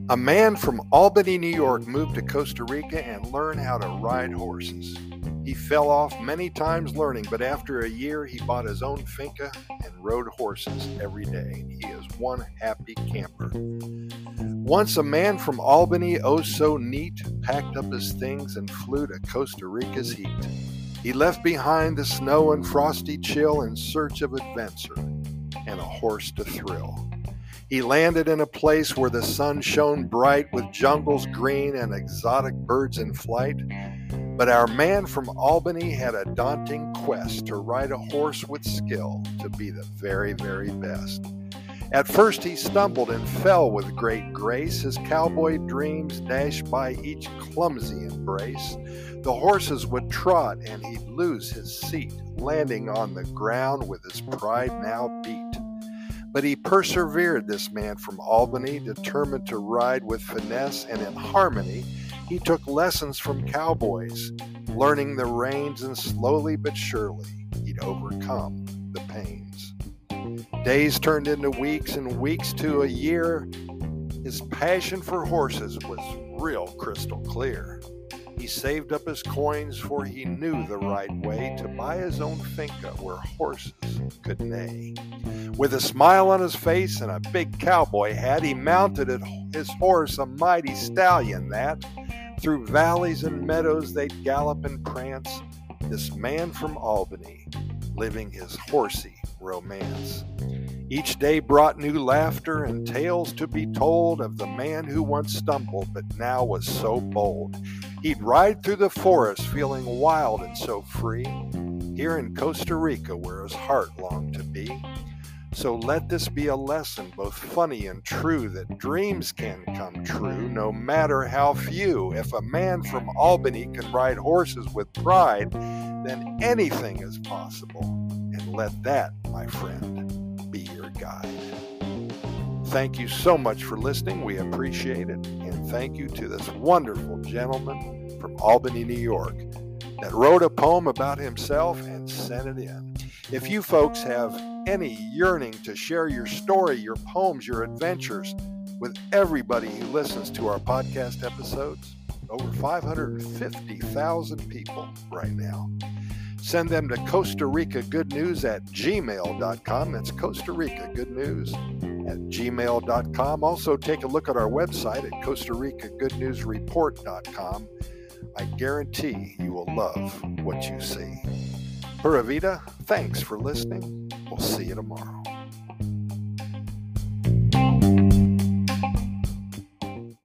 A man from Albany, New York moved to Costa Rica and learned how to ride horses. He fell off many times learning, but after a year he bought his own finca and rode horses every day. He is one happy camper. Once a man from Albany, oh so neat, packed up his things and flew to Costa Rica's heat. He left behind the snow and frosty chill in search of adventure and a horse to thrill. He landed in a place where the sun shone bright with jungles green and exotic birds in flight. But our man from Albany had a daunting quest to ride a horse with skill to be the very, very best. At first he stumbled and fell with great grace. His cowboy dreams dashed by each clumsy embrace. The horses would trot and he'd lose his seat, landing on the ground with his pride now beat. But he persevered, this man from Albany, determined to ride with finesse and in harmony. He took lessons from cowboys, learning the reins, and slowly but surely he'd overcome the pains. Days turned into weeks and weeks to a year. His passion for horses was real crystal clear. He saved up his coins, for he knew the right way to buy his own finca where horses could neigh. With a smile on his face and a big cowboy hat, he mounted his horse, a mighty stallion that. Through valleys and meadows they'd gallop and prance, this man from Albany, living his horsey romance. Each day brought new laughter and tales to be told of the man who once stumbled but now was so bold. He'd ride through the forest feeling wild and so free, here in Costa Rica where his heart longed to be. So let this be a lesson, both funny and true, that dreams can come true, no matter how few. If a man from Albany can ride horses with pride, then anything is possible. And let that, my friend, be your guide. Thank you so much for listening. We appreciate it. And thank you to this wonderful gentleman from Albany, New York, that wrote a poem about himself and sent it in. If you folks have any yearning to share your story, your poems, your adventures with everybody who listens to our podcast episodes, over 550,000 people right now, send them to Costa Rica Good News at gmail.com. That's Costa Rica Good News at gmail.com. Also, take a look at our website at Costa Rica Good News Report.com. I guarantee you will love what you see. Pura Vida, thanks for listening. We'll see you tomorrow.